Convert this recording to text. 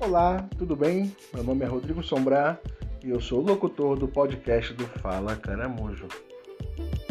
Olá, tudo bem? Meu nome é Rodrigo Sombrá e eu sou o locutor do podcast do Fala Caramujo.